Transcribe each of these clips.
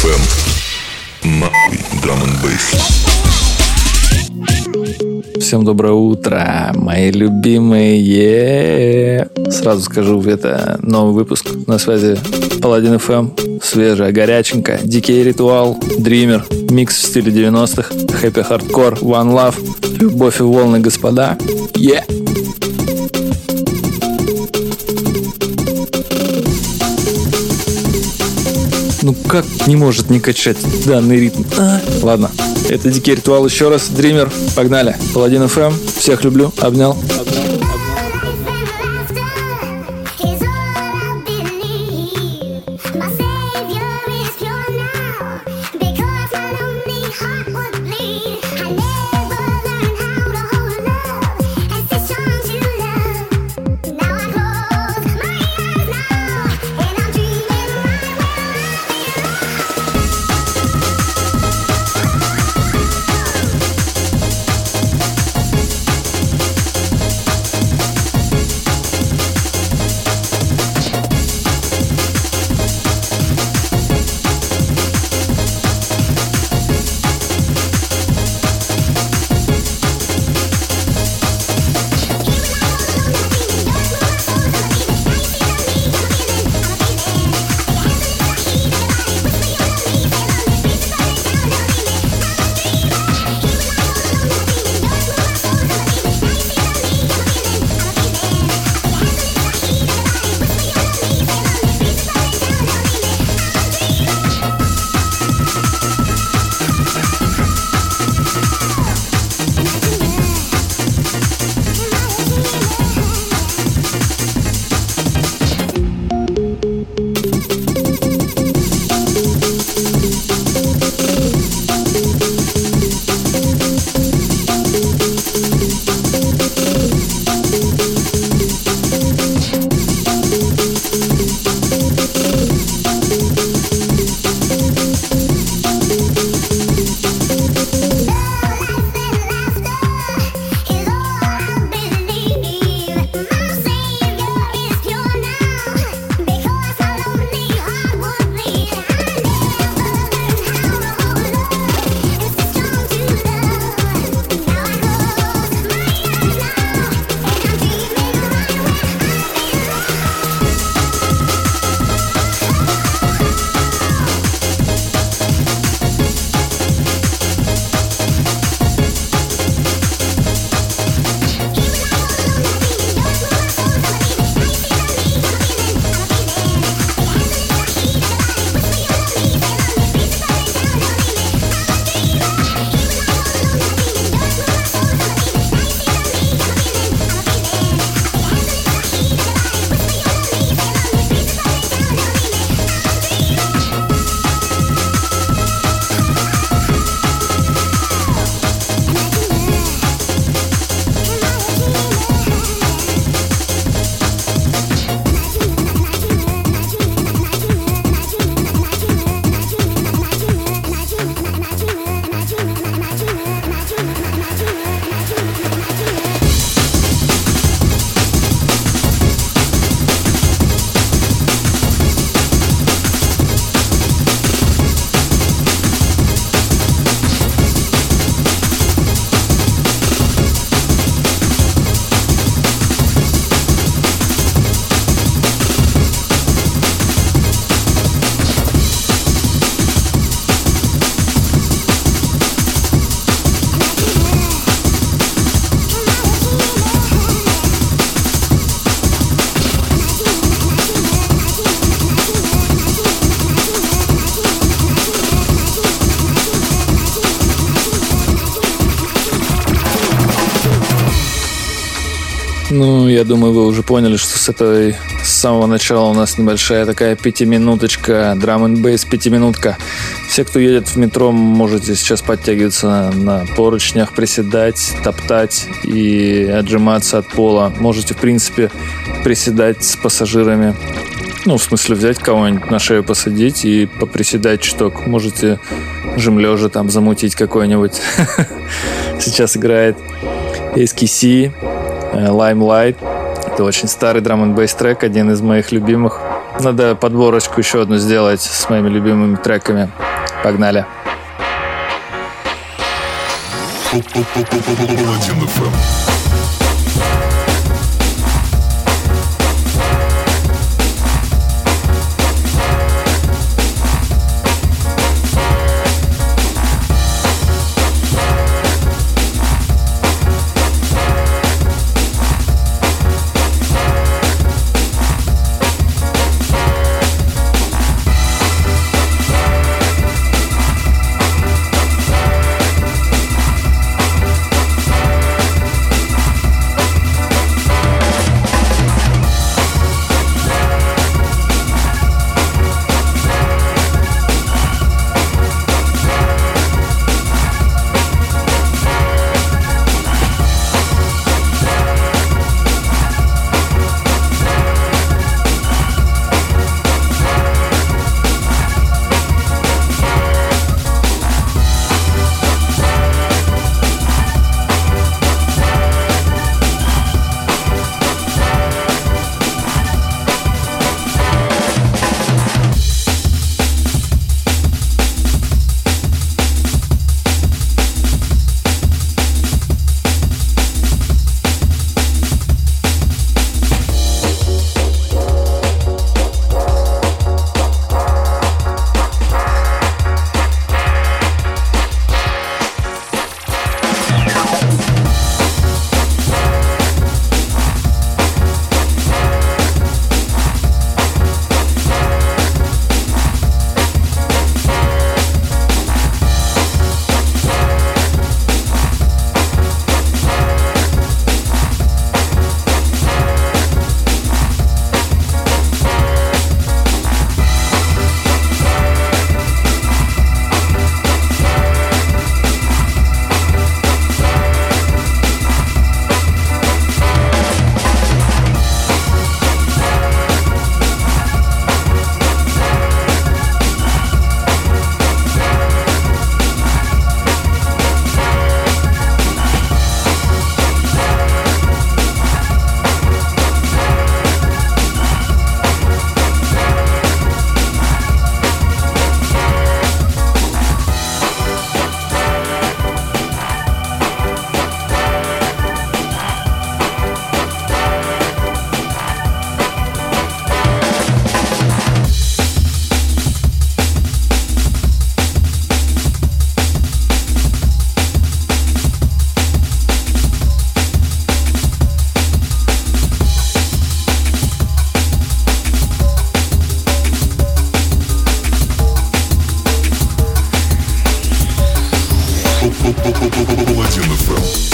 FM. Нахуй драм н бейс. Всем доброе утро, мои любимые. Сразу скажу, это новый выпуск. На связи Паладин FM. Свежая, горяченькая. Дикий ритуал, Дример. Микс в стиле 90-х. Хэппи хардкор, One Love. Любовь и волны, господа. Ну как не может не качать данный ритм? Ладно, это Дикий ритуал еще раз. Дример, погнали. Паладин FM. Всех люблю. Обнял. Ну, я думаю, вы уже поняли, что с самого начала у нас небольшая такая пятиминуточка, драм-н-бейс пятиминутка. Все, кто едет в метро, можете сейчас подтягиваться на поручнях, приседать, топтать и отжиматься от пола. Можете, в принципе, приседать с пассажирами. Ну, в смысле, взять кого-нибудь на шею, посадить и поприседать чуток. Можете жим-лежа там замутить какой-нибудь. Сейчас играет SKC, Limelight. Это очень старый драм-н-бейс трек, один из моих любимых. Надо подборочку еще одну сделать с моими любимыми треками. Погнали. Паладин FM. Паладин FM.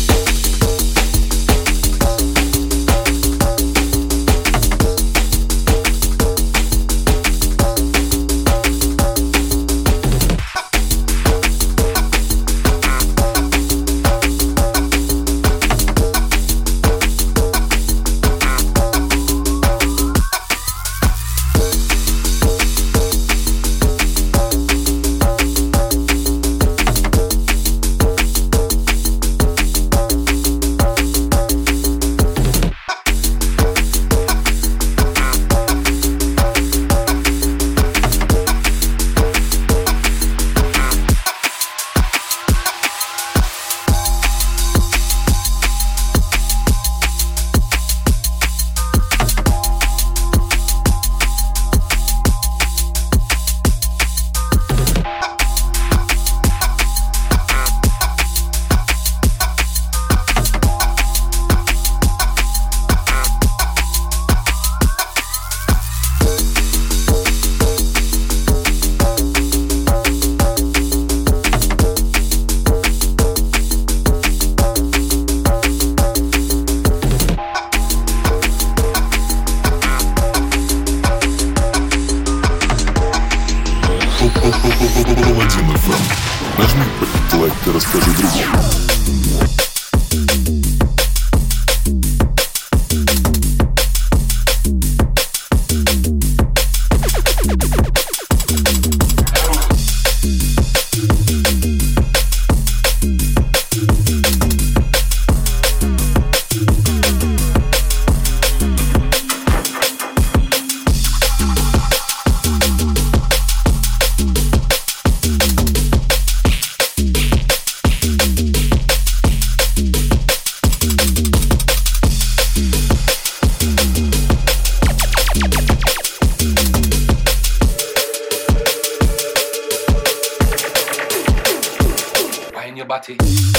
Паладин FM. Нажми лайк и расскажи другому. body.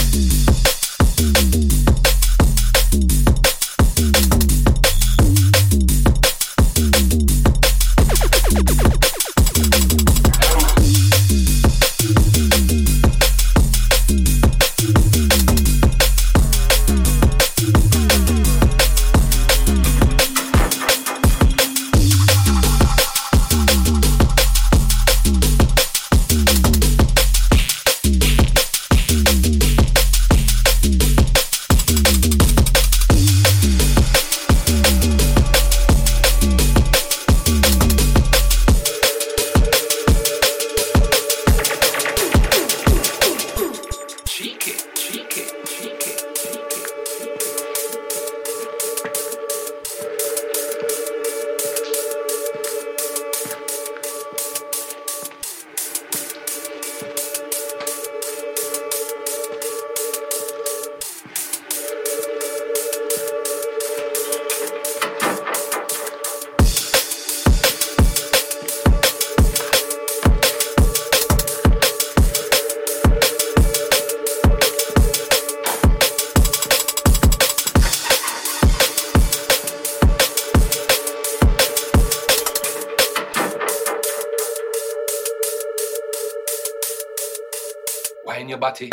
Wine your body.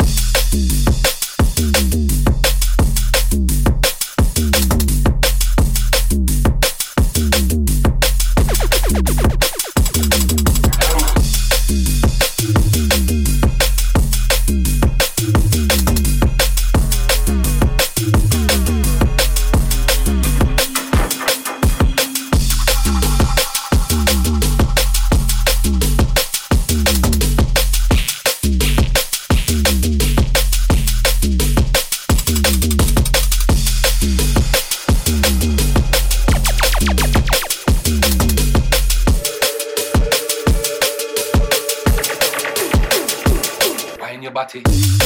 Wine your body.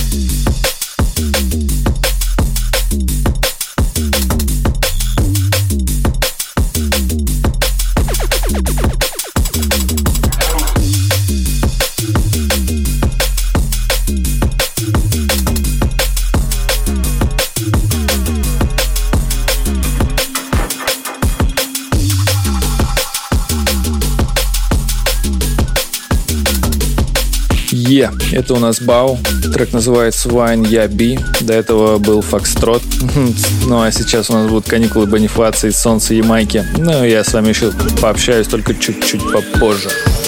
Это у нас Бау. Трек называется Wine Я Би. До этого был Фокстрот. Ну а сейчас у нас будут каникулы Бонифации, Солнце Ямайки. Ну я с вами еще пообщаюсь только чуть-чуть попозже.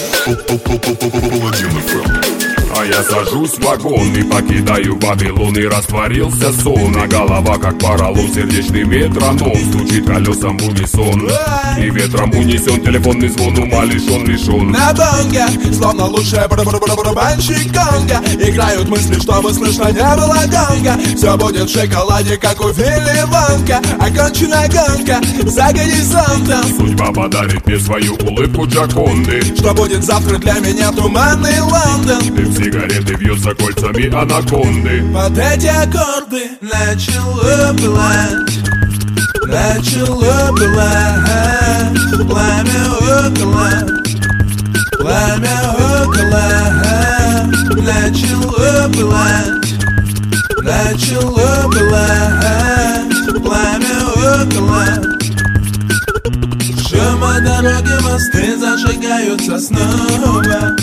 А я сажусь в вагон и покидаю Вавилон. И растворился сон, а голова как поролон. Сердечный метроном стучит колесом в унисон. И ветром унесен телефонный звон. Ума лишен. На бонге, словно лучшая барабанщик конга. Играют мысли, чтобы слышно не было гонга. Все будет в шоколаде, как у Вилли Вонка. Окончена гонка за горизонтом. Судьба подарит мне свою улыбку Джаконды. Что будет завтра для меня туманный Лондон. Дым сигареты вьется кольцами анаконды. Под эти аккорды начало пылать. Начало пылать. Пламя около. Пламя около. Начало пылать. Начало пылать. Пламя около. Шума дороги, мосты зажигаются снова.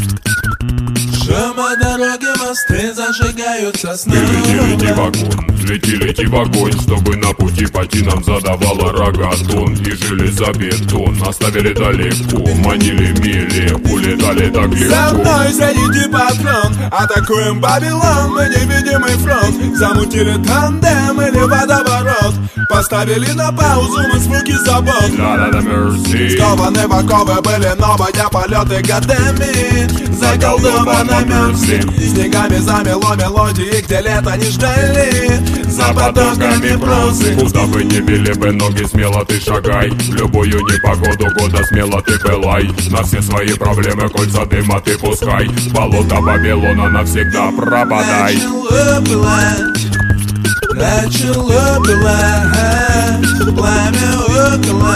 Шума дороги, мосты зажигаются снова. Лети вагон, лети в огонь, чтобы на пути пойти нам задавала рогатон. И железобетон оставили далеко, манили мили, улетали так легко. За мной заряди патрон, атакуем Вавилон. Мы невидимый фронт, замутили тандем или водоворот. Поставили на паузу мы звуки забот. Скованы в оковы были новые полеты годами. Заколдованы мерзли, снегами замело мелодии, где лето не ждали. За потоками прозы. Куда бы ни били бы ноги, смело ты шагай. В любую непогоду года смело ты пылай. На все свои проблемы кольца дыма ты пускай. Болото Вавилона навсегда пропадай. Начало пылать. Начало пылать. Пламя около.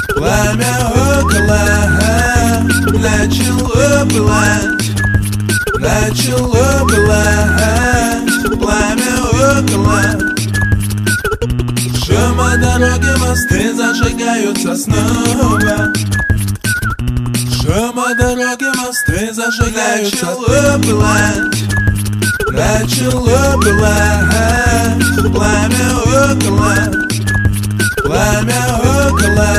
Пламя около. Начало пылать. начало пылать, пламя около. Шума дороги, мосты зажигаются снова. Шума дороги, мосты зажигаются. Начало пылать, начало пылать, пламя около. Пламя около,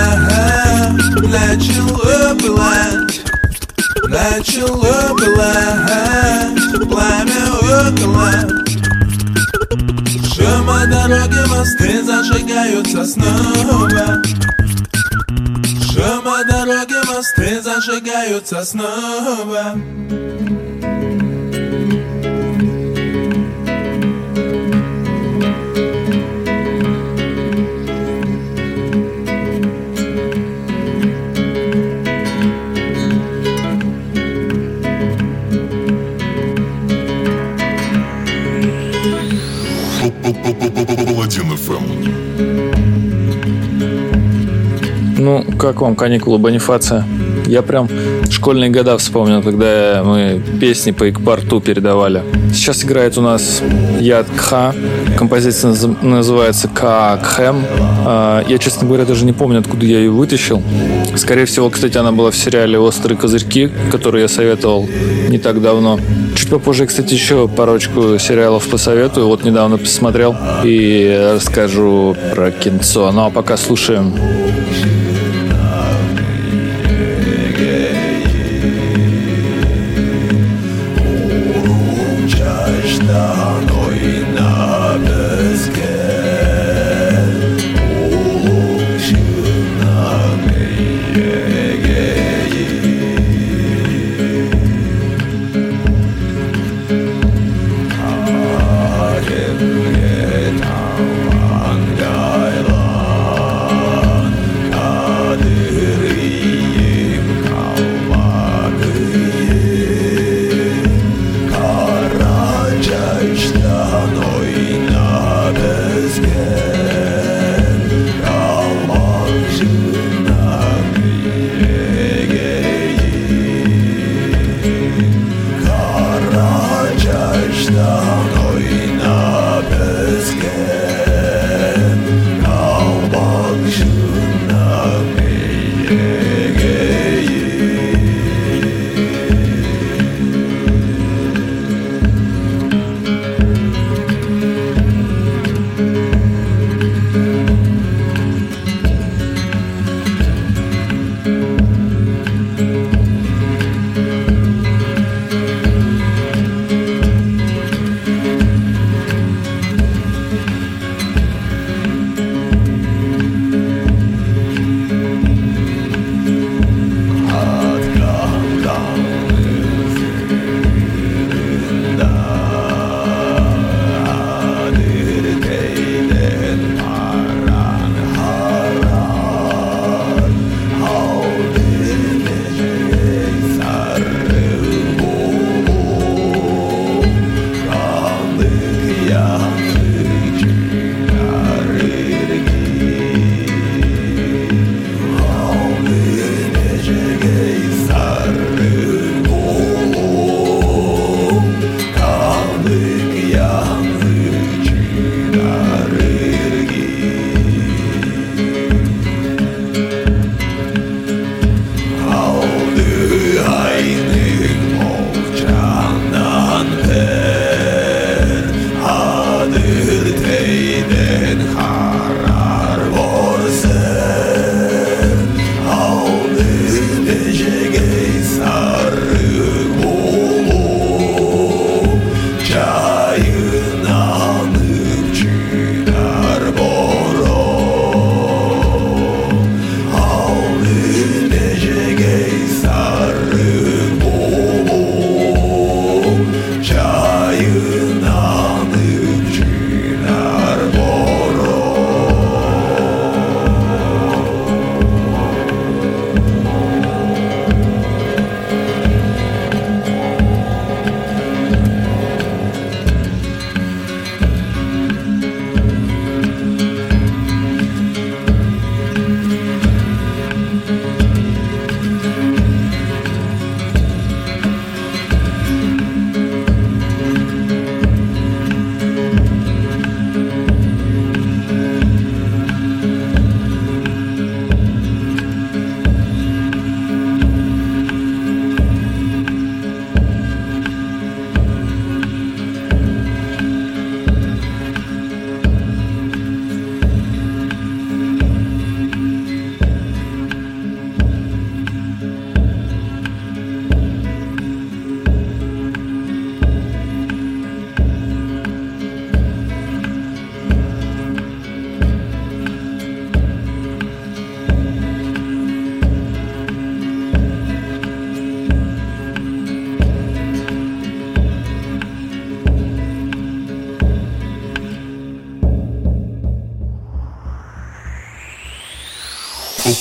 начало пылать, начало пылать, пламя около. Шума дороги, мосты зажигаются снова. Шума дороги, мосты зажигаются снова. Паладин FM. Ну, как вам каникулы Бонифация? Я прям школьные года вспомнил, когда мы песни по Икпарту передавали. Сейчас играет у нас Яд Кха. Композиция называется Каакхэм. Я, честно говоря, даже не помню, откуда я ее вытащил. Скорее всего, кстати, она была в сериале «Острые козырьки», который я советовал не так давно. Чуть попозже, кстати, еще парочку сериалов посоветую. Вот недавно посмотрел и расскажу про кинцо. Ну а пока слушаем.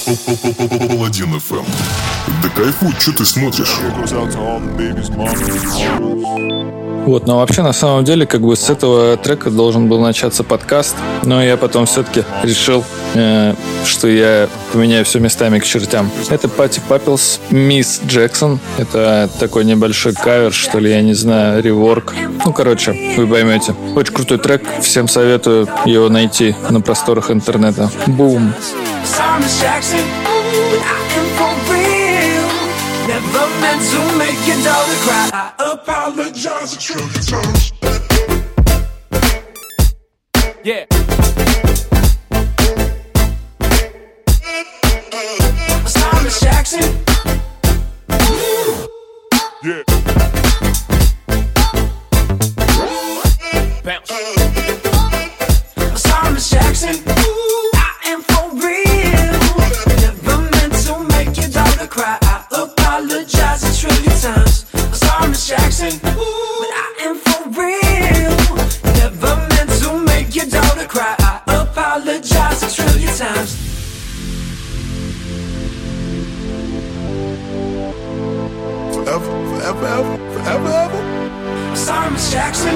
Паладин FM. Да кайфуй, что ты смотришь? Вот, но вообще, на самом деле, как бы с этого трека должен был начаться подкаст, но я потом все-таки решил, что я поменяю все местами к чертям. Это Пати Паппелс, Мисс Джексон. Это такой небольшой кавер, что ли, я не знаю, реворк. Ну, короче, вы поймете. Очень крутой трек, всем советую его найти на просторах интернета. Бум! Never meant to make your daughter cry. I apologize a trillion times. Yeah. Thomas Jackson. Yeah. Bounce. Thomas Jackson. I am for real. Never meant to make your daughter cry. Apologize a trillion times. I'm sorry, Miss Jackson, but I am for real. Never meant to make your daughter cry. I apologize a trillion times. Forever, forever, ever, forever, ever. I'm sorry, Miss Jackson.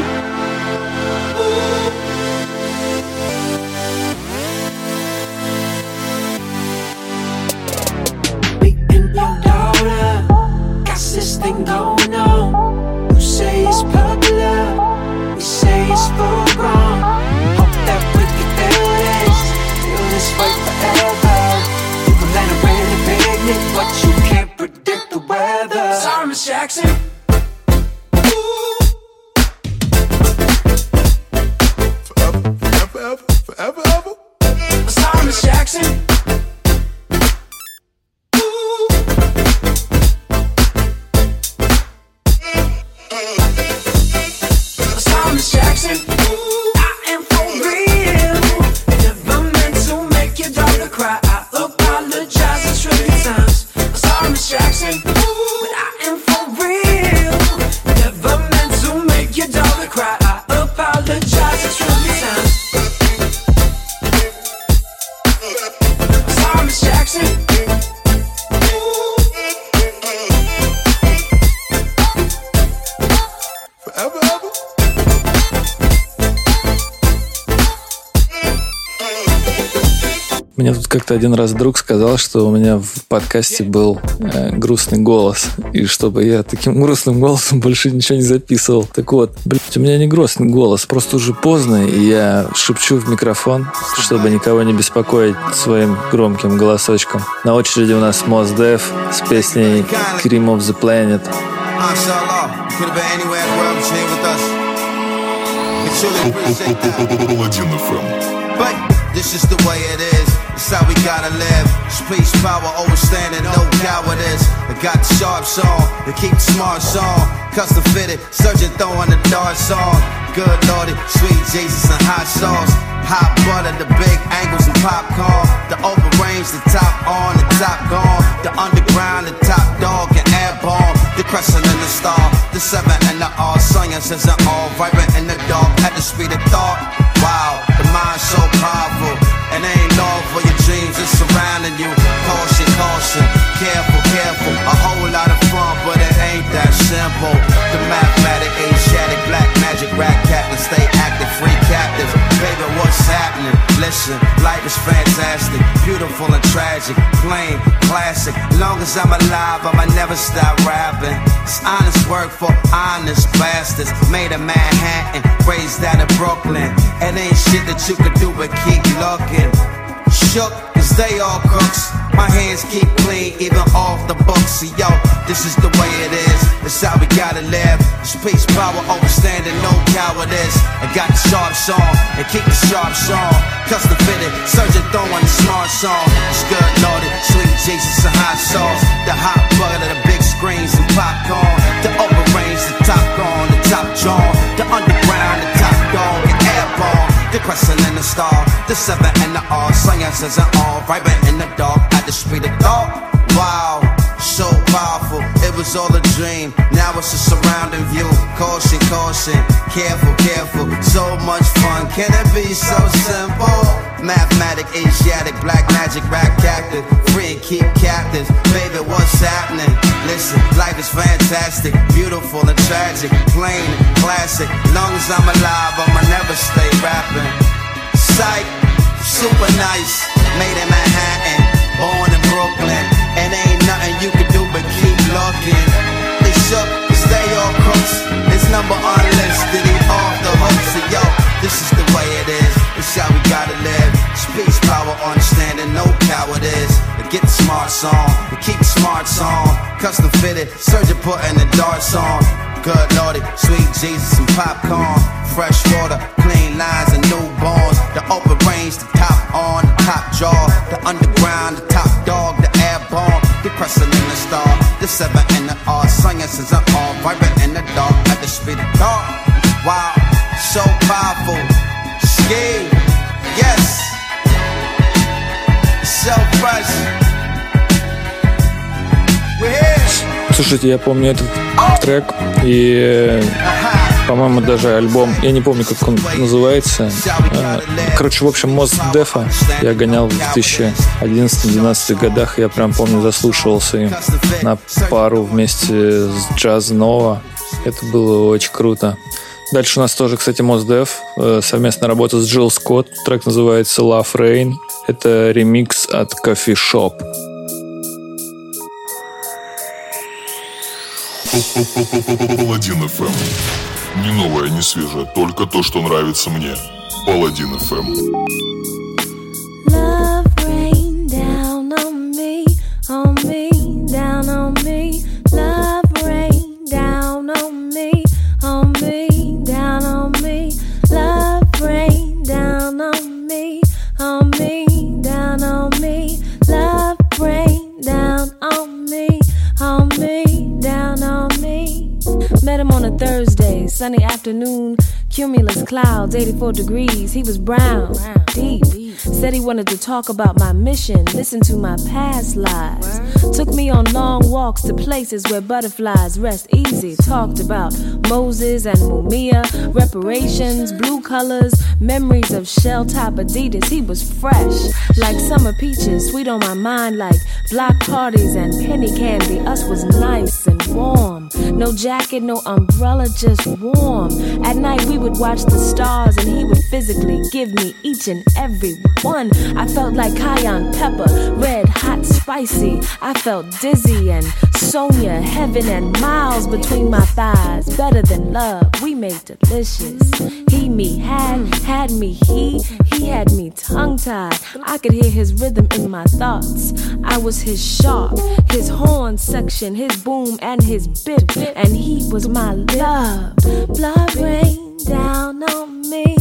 This thing going on. You say it's popular, we say it's full grown. Hope that we can feel this way forever. You can land a really picnic, but you can't predict the weather. Sorry, Miss Jackson. Forever, forever, ever, forever, ever. Sorry, Miss Jackson. Мне тут как-то один раз друг сказал, что у меня в подкасте был грустный голос, и чтобы я таким грустным голосом больше ничего не записывал. Так вот, блядь, у меня не грустный голос, просто уже поздно, и я шепчу в микрофон, чтобы никого не беспокоить своим громким голосочком. На очереди у нас Mos Def с песней Cream of the Planet. Паладин FM. But this is the way it is. It's how we gotta live. Space power overstanding, no cowardice. I got the sharps on, to keep the smarts on. Custom fitted, surgeon throwing the darts on. Good lordy, sweet Jesus and hot sauce. Hot butter, the big angles and popcorn. The open range, the top on, the top gone. The underground, the top dog and airborne. The crescent and the star, the 7 and the R. Science isn't all vibrant in the dark at the speed of thought. Wow, the mind's so powerful. And ain't long for your dreams, it's surrounding you. Caution, caution, careful, careful. A whole lot of fun, but it ain't that simple. The mathematic, Asiatic, black magic, rat captain, stay active, free captives. Baby, what's happening? Listen, life is fantastic, beautiful and tragic, plain, classic. Long as I'm alive, I'ma never stop rapping. It's honest work for honest bastards. Made in Manhattan, raised down in Brooklyn. It ain't shit that you could do but keep looking. Shook, cause they all crooks. My hands keep clean, even off the books. See, yo, this is the way it is. It's how we gotta live. It's peace, power, overstanding, no cowardice. I got the sharps on, and keep the sharps on. Custom fitted, surgeon throwing the smart song. It's good loaded, sweet Jesus and hot sauce. The hot butter, the big screens and popcorn. The open range, the top gone, the top drawn. The underground, the top dog, and airborne. The crescent and the star, the 7 and the R. Science isn't all vibrant in the dark at the speed of thought. Wow, so powerful, it was all a dream. Now it's a surrounding view. Caution, caution, careful, careful. So much fun, can it be so simple? Mathematic, Asiatic, black magic, rap captive. Free and keep captives. Baby, what's happening? Listen, life is fantastic, beautiful and tragic, plain and classic. Long as I'm alive, I'ma never stay rapping. Psych, super nice, made in Manhattan, born in Brooklyn, and ain't nothing you can do but keep looking. They shook, stay all crooks. His number unlisted, he off the hook. So yo, this is the way it is. It's how we gotta live. Speech, power, understanding, no cowardice. Get the smarts on, keep the smarts on. Custom fitted, surgeon putting the darts on. Good lordy, sweet Jesus and popcorn. Fresh water, clean lines and newborns. The open range, the top on, the top jaw. The underground, the top dog, the airborne. The pressing in the star, the 7 in the R. Science is an all, vibrant in the dark. At the speed of thought. Wow, so powerful. Ski, yes. So fresh. We're here. Слушайте, я помню этот трек и, по-моему, даже альбом, я не помню, как он называется. Короче, в общем, Mos Def я гонял в 2011-2012 годах. Я прям помню, заслушивался им на пару вместе с Jazz Nova. Это было очень круто. Дальше у нас тоже, кстати, Mos Def, совместная работа с Джилл Скотт. Трек называется Love Rain. Это ремикс от Coffee Shop. Паладин FM. Не новое, не свежее, только то, что нравится мне. Паладин FM. Love rain down on me, down on me. Love rain down on me, down on me. Love rain down on me, down on me. Love rain down on me, down on me. Met him on a Thursday, sunny afternoon, cumulus clouds, 84 degrees. He was brown, deep. Said he wanted to talk about my mission, listen to my past lives. Took me on long walks to places where butterflies rest easy. Talked about Moses and Mumia, reparations, blue colors, memories of shell-top Adidas. He was fresh, like summer peaches, sweet on my mind like block parties and penny candy. Us was nice and warm. No jacket, no umbrella, just warm. At night we would watch the stars and he would physically give me each and every one. I felt like cayenne pepper, red, hot, spicy. I felt dizzy and Sonia, heaven and miles between my thighs. Better than love, we made delicious. He, me, had me, he had me tongue-tied. I could hear his rhythm in my thoughts. I was his sharp, his horn section, his boom and his bit, and he was my love. Blood rain down on me,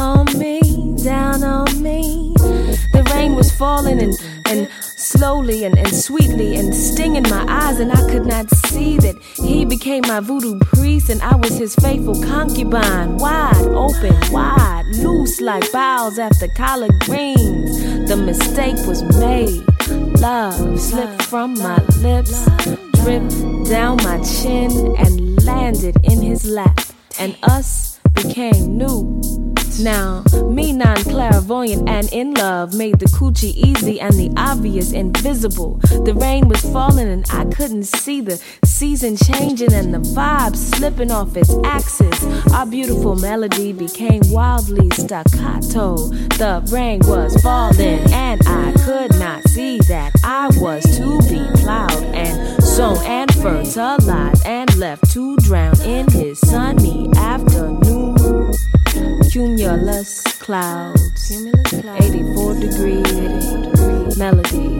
down on me. The rain was falling and slowly and sweetly and stinging my eyes, and I could not see that he became my voodoo priest and I was his faithful concubine. Wide open, wide, loose like boughs after collard greens. The mistake was made. Love slipped from my lips, dripped down my chin and landed in his lap, and us became new. Now, me non-clairvoyant and in love made the coochie easy and the obvious invisible. The rain was falling and I couldn't see the season changing and the vibe slipping off its axis. Our beautiful melody became wildly staccato. The rain was falling and I could not see that I was to be plowed and sown and fertilized and left to drown in his sunny afternoon. Cumulus clouds, 84 degrees, melody.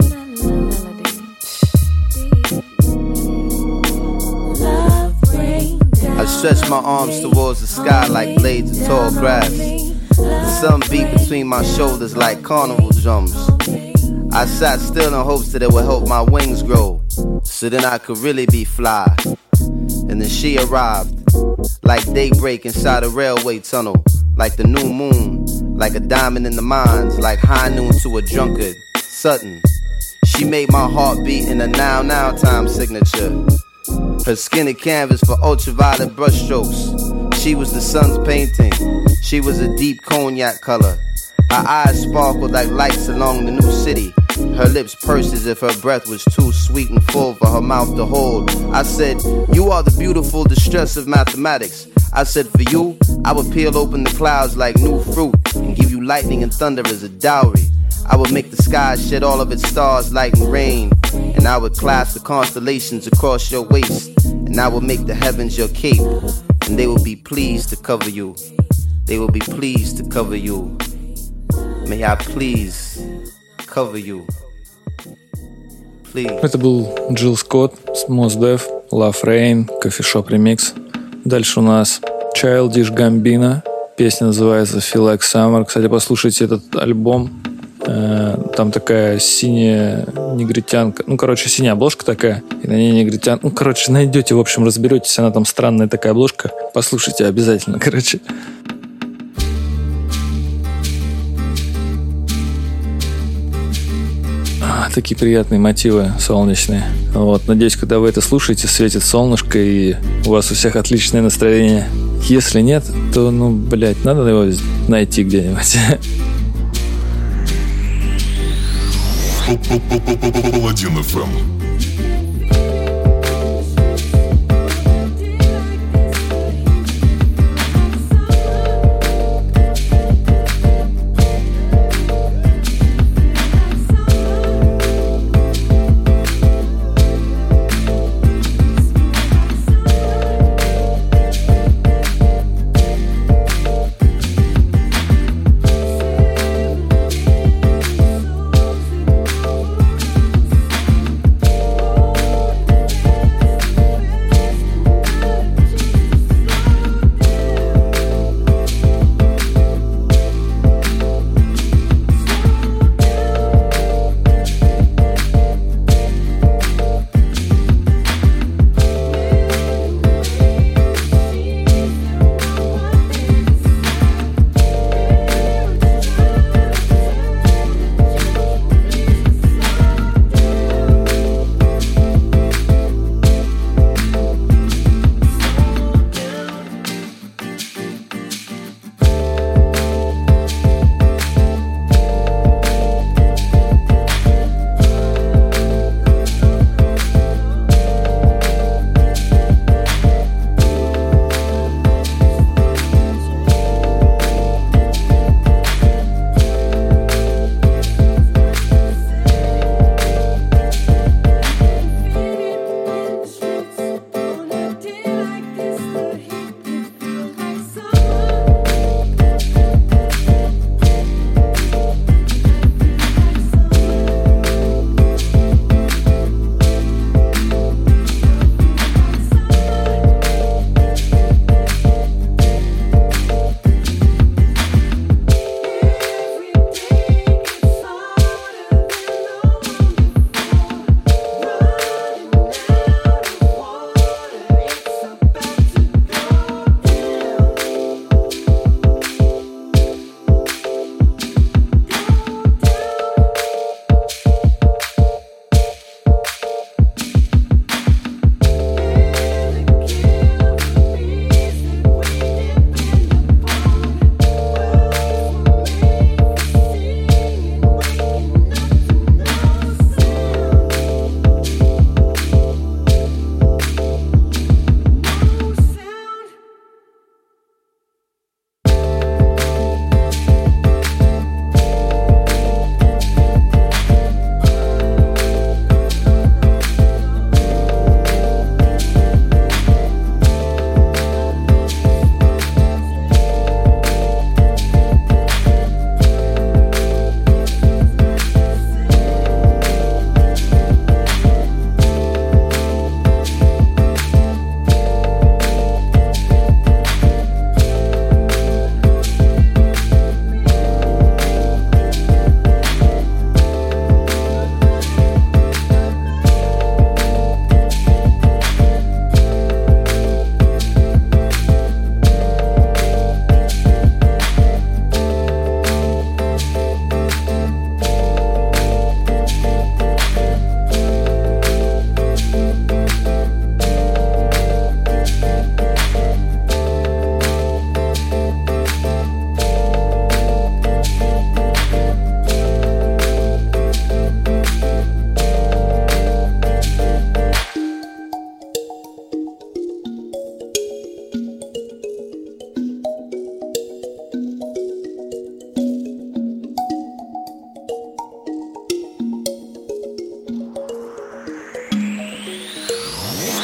I stretch my arms towards the sky like blades of tall grass. The sun beat between my shoulders like carnival drums. I sat still in hopes that it would help my wings grow, so then I could really be fly. And then she arrived, like daybreak inside a railway tunnel, like the new moon, like a diamond in the mines, like high noon to a drunkard, Sutton. She made my heart beat in a now time signature. Her skinny canvas for ultraviolet brushstrokes. She was the sun's painting. She was a deep cognac color. Her eyes sparkled like lights along the new city. Her lips pursed as if her breath was too sweet and full for her mouth to hold. I said, you are the beautiful distress of mathematics. I said, for you, I would peel open the clouds like new fruit and give you lightning and thunder as a dowry. I would make the sky shed all of its stars, light and rain. And I would clasp the constellations across your waist. And I would make the heavens your cape. And they will be pleased to cover you. They will be pleased to cover you. May I please cover you. Please. Это был Джилл Скотт с Mos Def, Love Rain, Coffeeshop Remix. Дальше у нас Childish Gambino. Песня называется Feel Like Summer. Кстати, послушайте этот альбом. Там такая синяя негритянка. Ну, короче, синяя обложка такая. И на ней негритянка. Ну, короче, найдете, в общем, разберетесь. Она там странная такая обложка. Послушайте обязательно, короче. Такие приятные мотивы солнечные. Вот, надеюсь, когда вы это слушаете, светит солнышко и у вас у всех отличное настроение. Если нет, то, надо его найти где-нибудь. Паладин FM.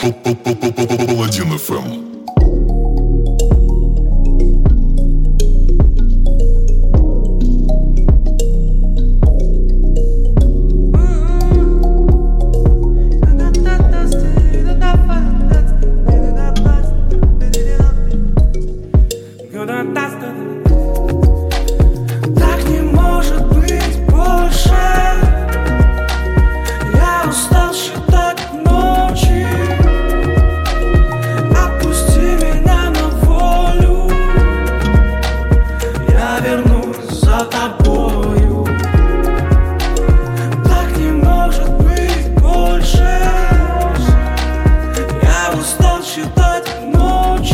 Паладин FM. Так не может быть больше. Я устал считать ночи. Отпусти меня на волю. Я вернусь за тобою. Так не может быть больше. Я устал считать ночи.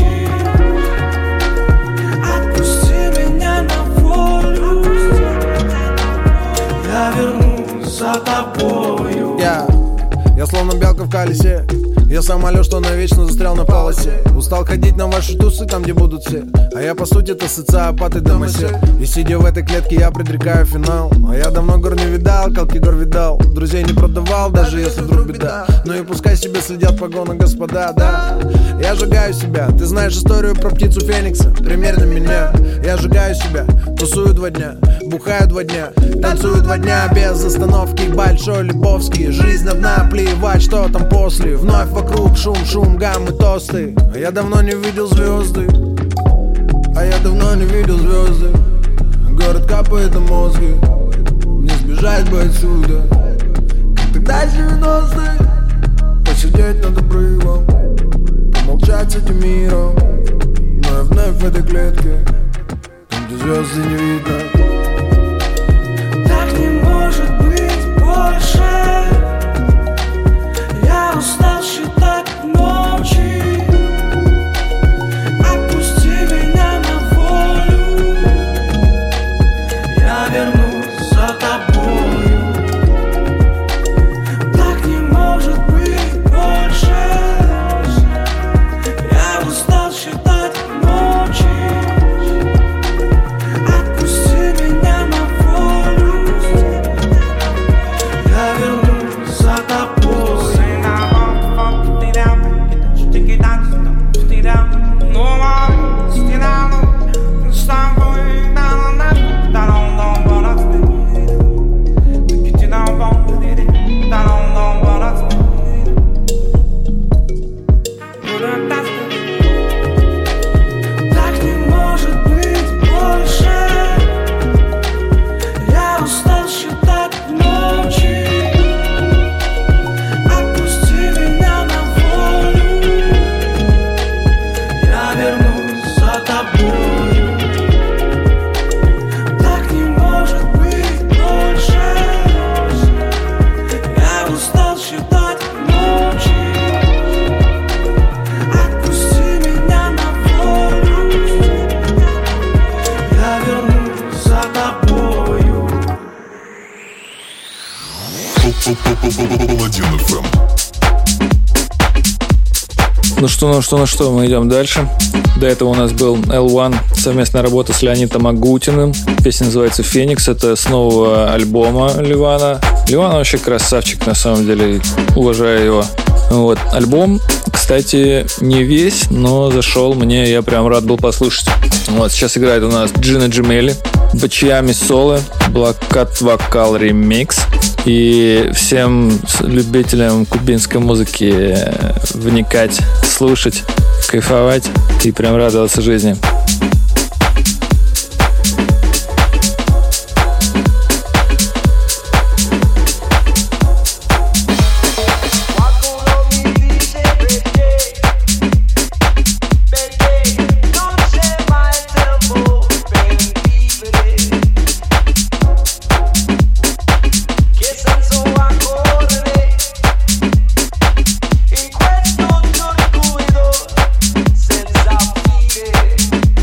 Я вернусь за тобою. Я словно белка в колесе. Я самолет, что навечно застрял на полосе. Устал ходить на ваши тусы, там где будут все. А я по сути это социопат и домосед. И сидя в этой клетке я предрекаю финал. А я давно гор не видал, колки гор видал. Друзей не продавал, даже если вдруг беда. Ну и пускай себе следят погоны господа, да. Я сжигаю себя, ты знаешь историю про птицу Феникса. Примерно меня, я сжигаю себя. Тусую 2 дня, бухаю 2 дня. Танцую 2 дня без остановки. Большой Лебовский, жизнь одна, плевать, что там после. Вновь вокруг шум, гаммы, тосты. А я давно не видел звезды. Город капает на мозги. Не сбежать бы отсюда. Как тогда 90-е. Посидеть над обрывом, помолчать с этим миром. Но я вновь в этой клетке, там где звезды не видно. Так не может быть больше. Я устал считать ночи. Отпусти меня на волю. Я вернусь за тобою. Так не может быть больше. Я устал считать ночи. Отпусти меня на волю. Я вернусь за тобой. Так не может быть больше. Я устал считать ночи. Отпусти меня на волю. Я вернусь за тобою. Так не может быть больше. Я устал считать ночи. Отпусти меня на волю. Я вернусь за тобою. Паладин FM. Ну что, мы идем дальше. До этого у нас был L1, совместная работа с Леонидом Агутиным. Песня называется «Феникс». Это с нового альбома Ливана. Ливан вообще красавчик, на самом деле. Уважаю его. Вот. Альбом, кстати, не весь, но зашел мне. Я прям рад был послушать. Вот. Сейчас играет у нас Джина Джемели, Бачиями Соло, Блокат Вокал Ремикс. И всем любителям кубинской музыки вникать, слушать, кайфовать и прям радоваться жизни. In questo giorno senza fine.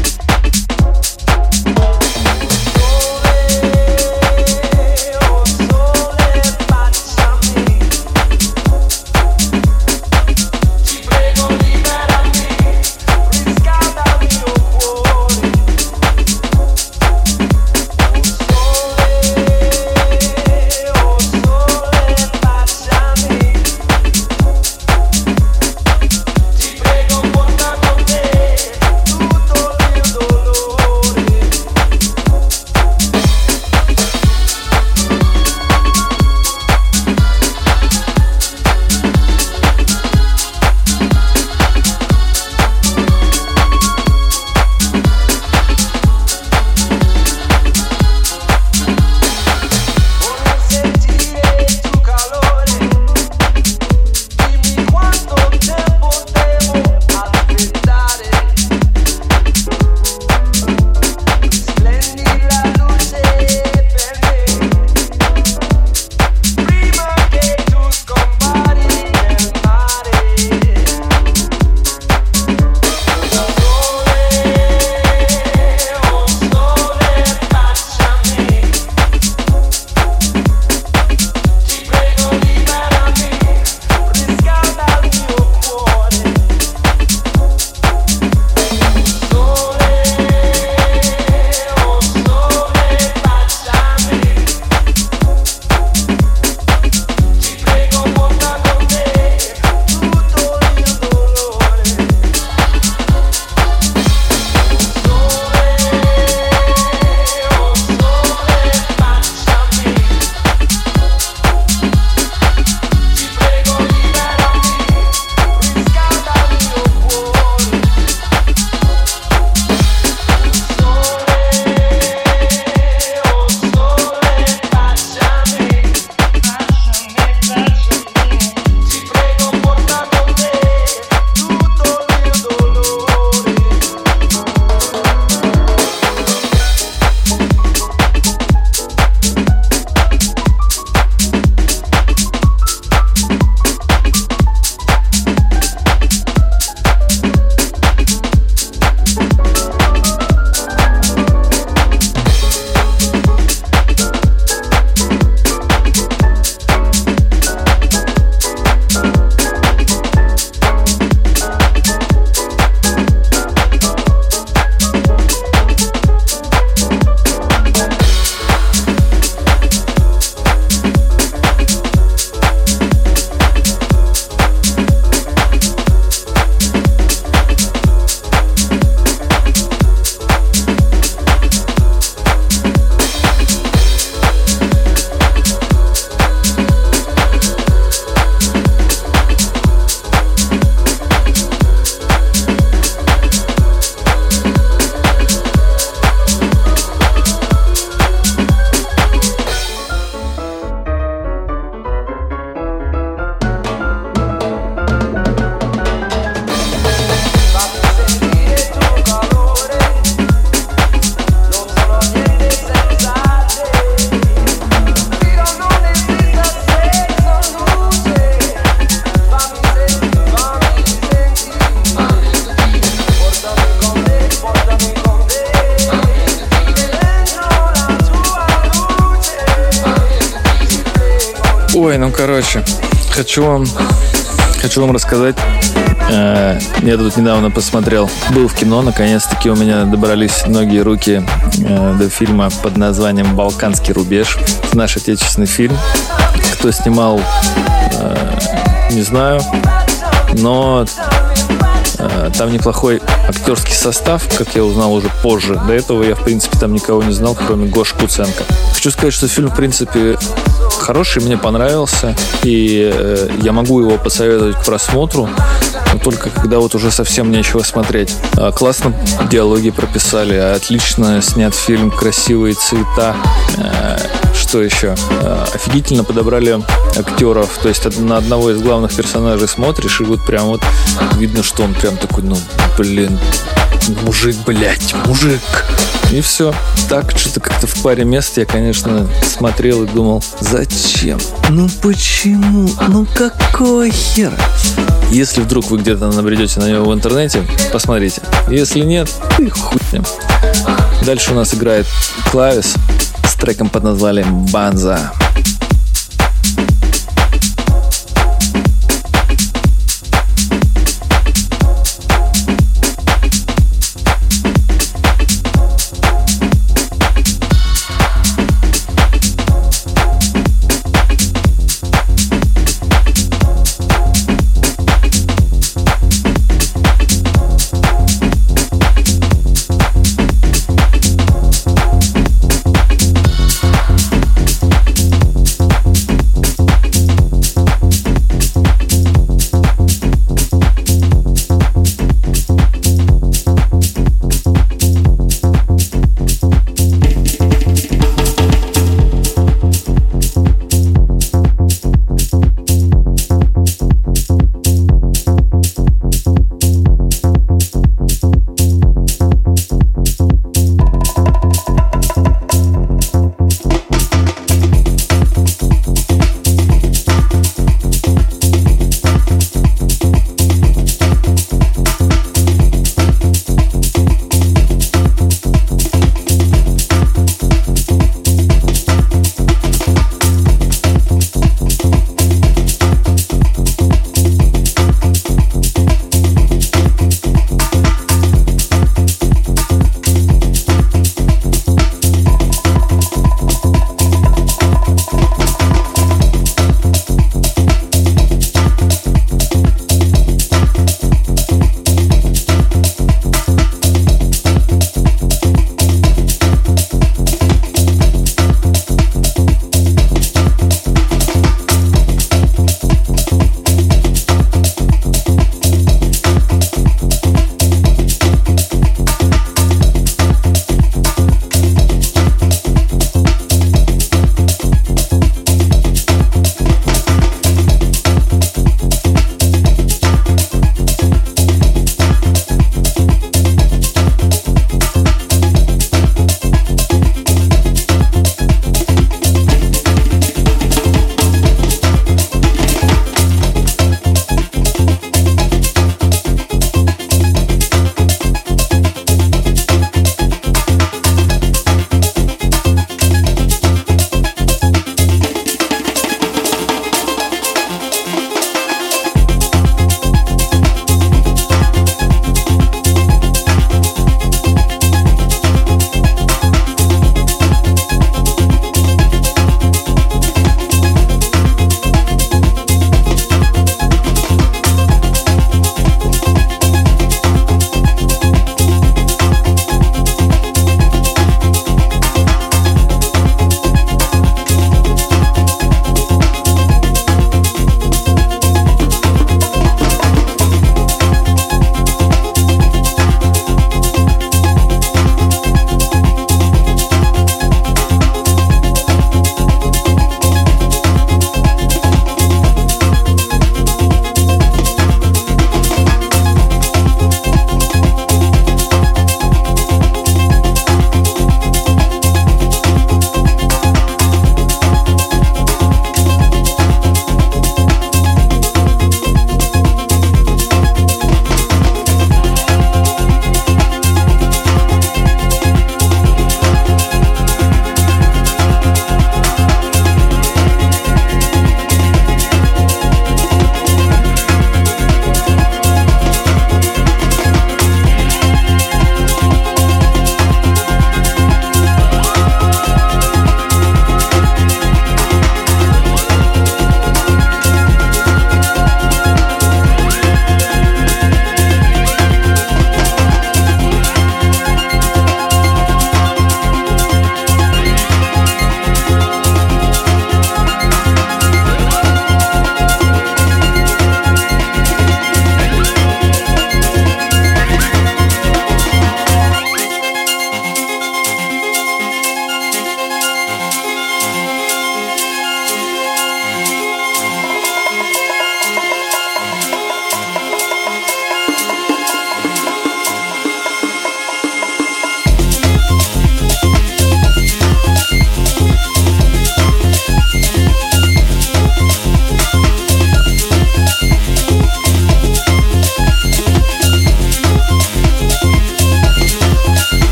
Ой, ну короче, хочу вам рассказать. Я тут недавно посмотрел, был в кино, наконец-таки у меня добрались ноги и руки до фильма под названием «Балканский рубеж». Это наш отечественный фильм. Кто снимал, не знаю, но там неплохой актерский состав, как я узнал уже позже. До этого я, в принципе, там никого не знал, кроме Гоши Куценко. Хочу сказать, что фильм, в принципе, хороший, мне понравился, и я могу его посоветовать к просмотру, но только когда вот уже совсем нечего смотреть. Классно диалоги прописали, отлично снят фильм, красивые цвета. Что еще? Офигительно подобрали актеров. То есть на одного из главных персонажей смотришь, и вот прям вот видно, что он прям такой, ну, блин, мужик, блядь, мужик. И все. Так, что-то как-то в паре мест я, конечно, смотрел и думал, зачем? Ну почему? Ну какой хер? Если вдруг вы где-то набредете на него в интернете, посмотрите. Если нет, ты хуй с ним. Дальше у нас играет Клавис с треком под названием «Банза».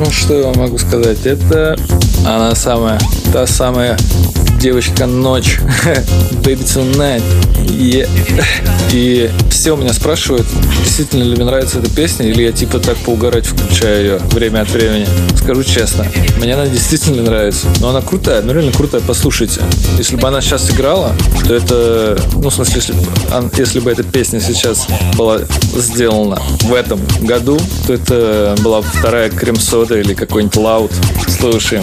Ну, что я вам могу сказать? Это она самая, та самая девочка ночь. Baby Tonight. И все у меня спрашивают, действительно ли мне нравится эта песня, или я типа так поугарать включаю ее время от времени. Скажу честно, мне она действительно нравится. Но она крутая, ну реально крутая, послушайте. Если бы она сейчас играла, то это, ну в смысле, если бы эта песня сейчас была сделана в этом году, то это была бы вторая крем-сода или какой-нибудь лаут. Слушаем.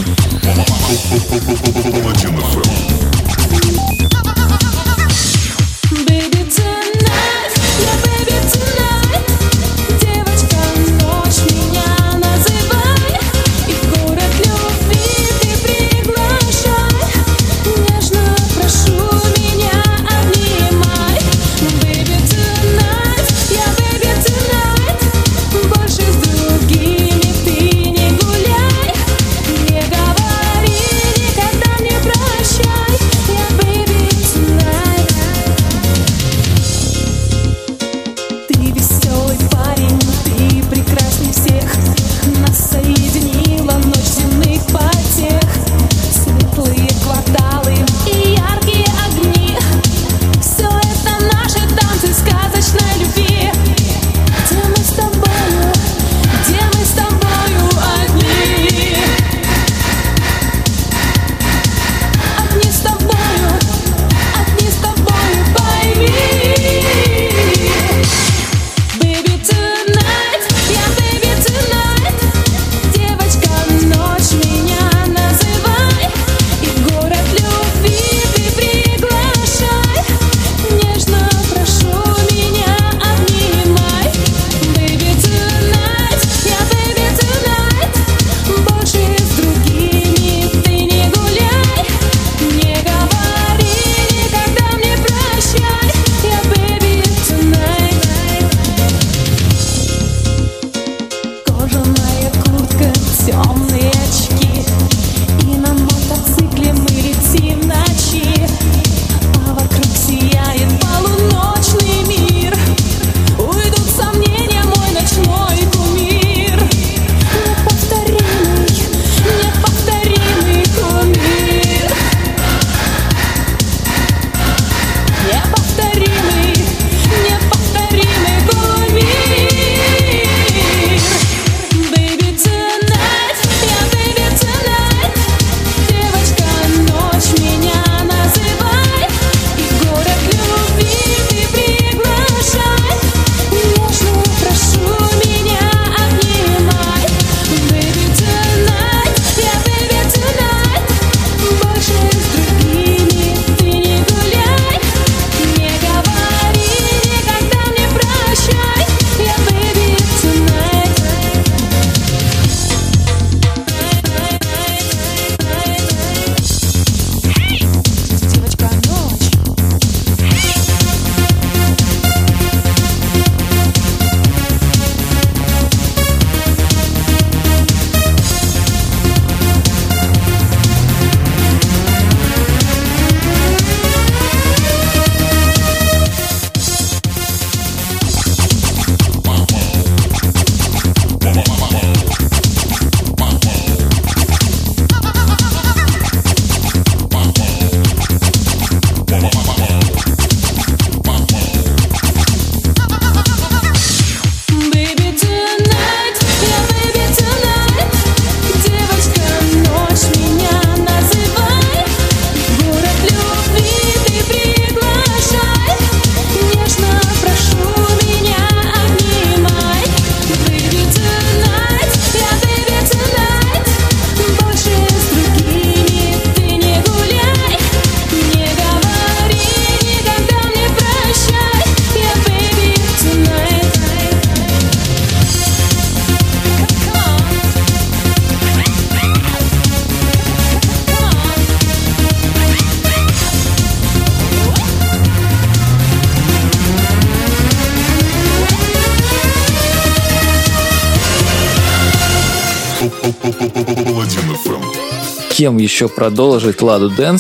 Кем еще продолжить Ладу Дэнс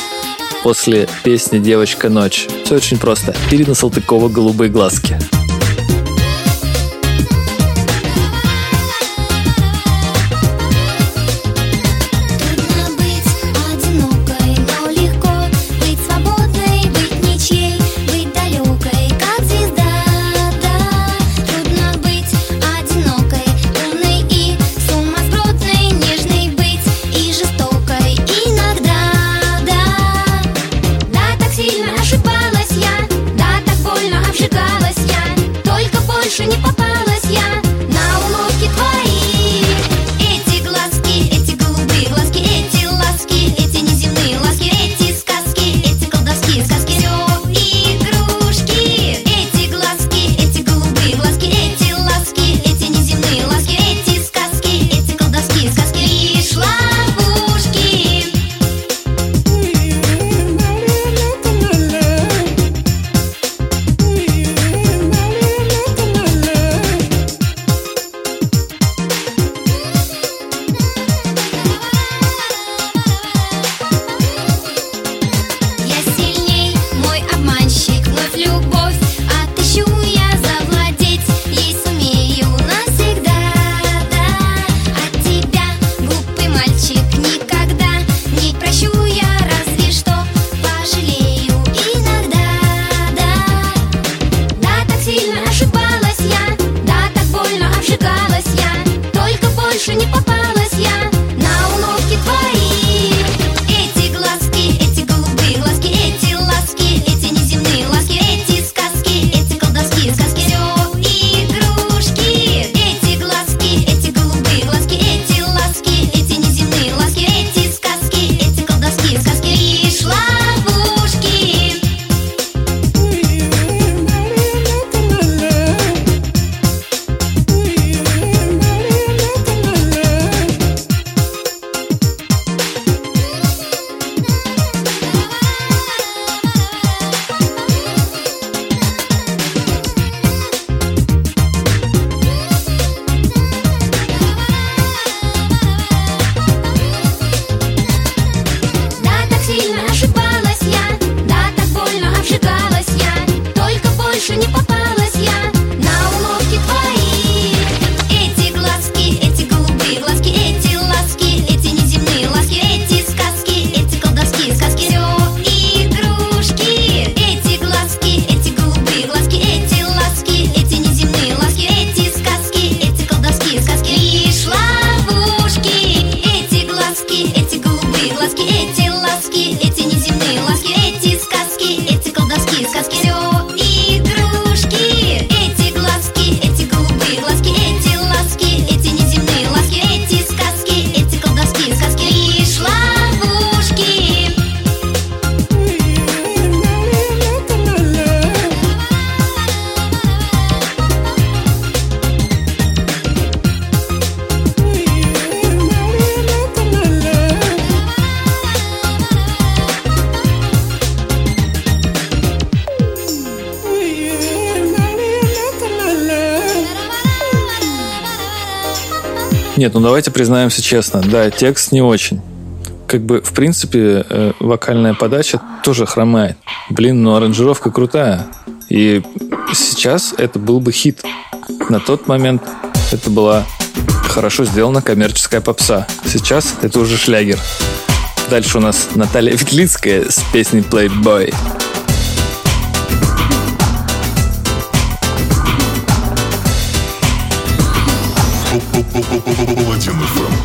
после песни «Девочка ночь»? Все очень просто. Ирина Салтыкова «Голубые глазки». Нет, ну давайте признаемся честно. Да, текст не очень. Как бы, в принципе, вокальная подача тоже хромает. Блин, но аранжировка крутая. И сейчас это был бы хит. На тот момент это была хорошо сделана коммерческая попса. Сейчас это уже шлягер. Дальше у нас Наталья Ветлицкая с песней «Playboy». Паладин FM.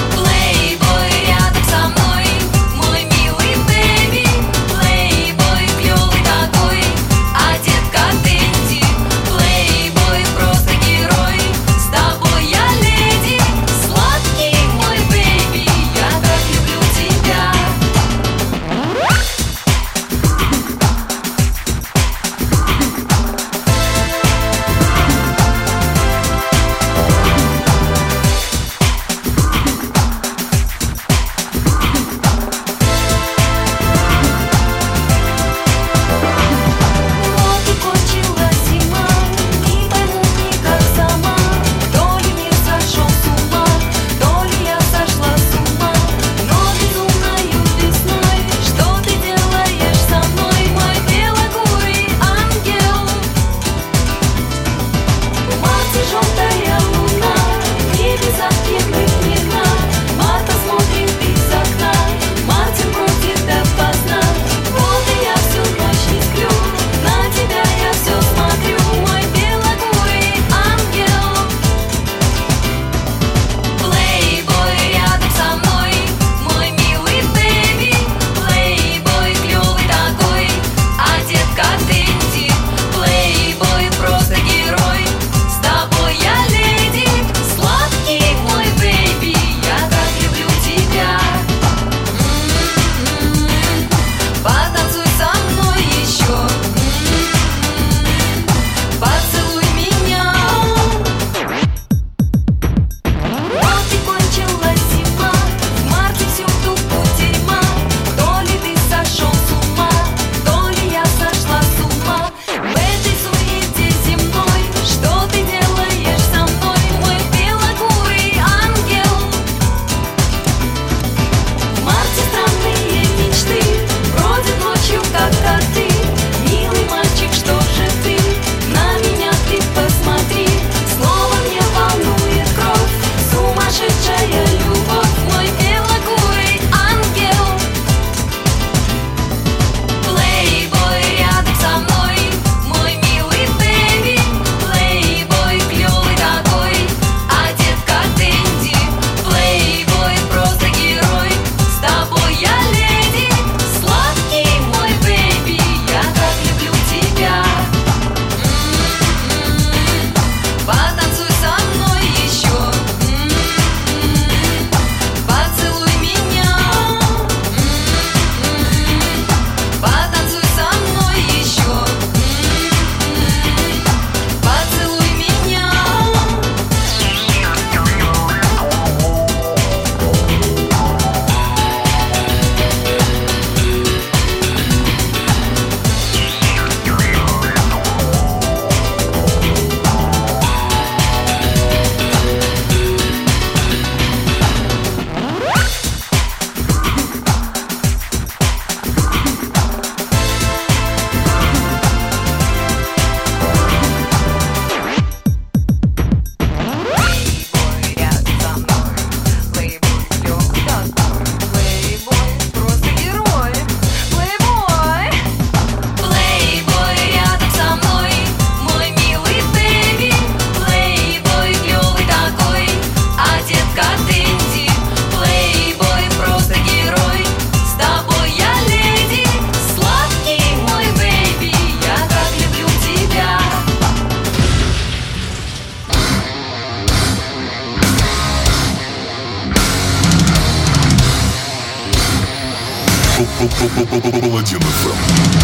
Паладин FM.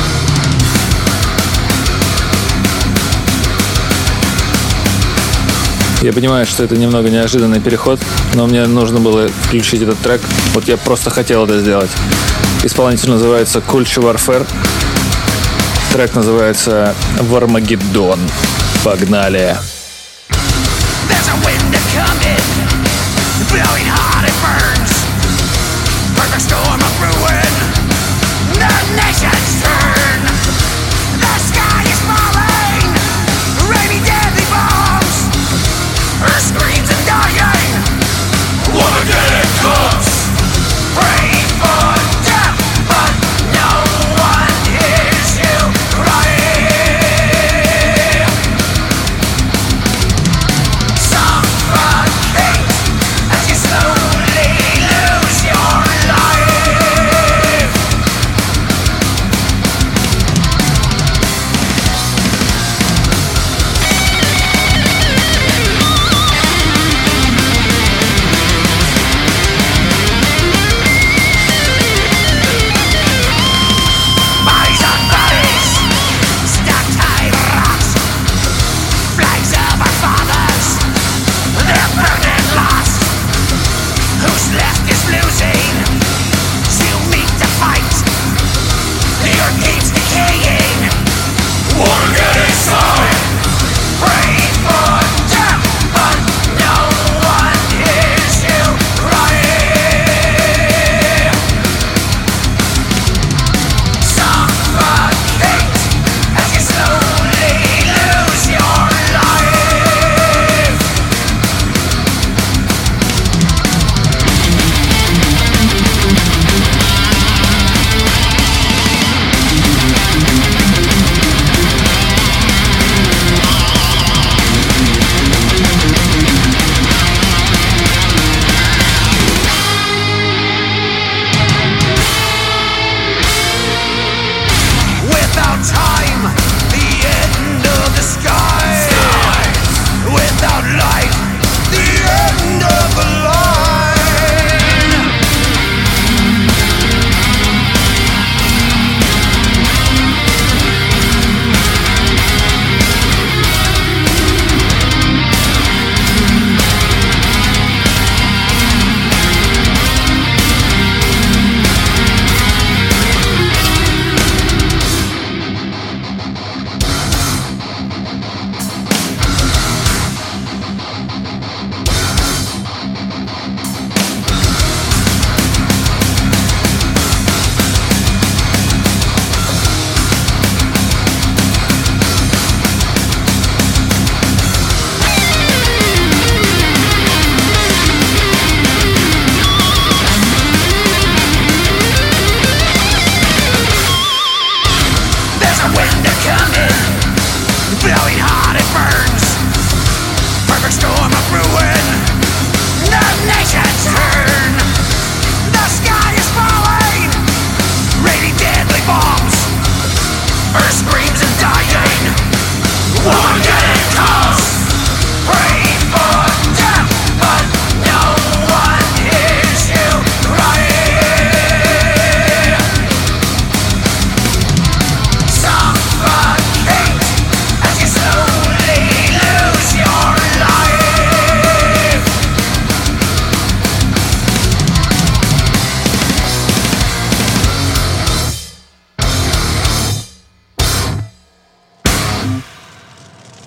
Я понимаю, что это немного неожиданный переход, но мне нужно было включить этот трек. Вот я просто хотел это сделать. Исполнитель называется Culture Warfare. Трек называется «Вармагеддон». Погнали!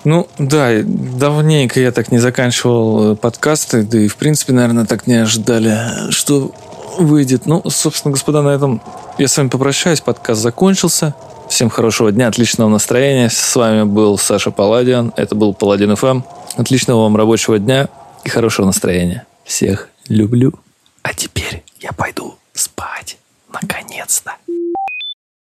Ну, да, давненько я так не заканчивал подкасты, да и, в принципе, наверное, так не ожидали, что выйдет. Ну, собственно, господа, на этом я с вами попрощаюсь. Подкаст закончился. Всем хорошего дня, отличного настроения. С вами был Саша Паладиан. Это был Паладин FM. Отличного вам рабочего дня и хорошего настроения. Всех люблю. А теперь я пойду спать. Наконец-то.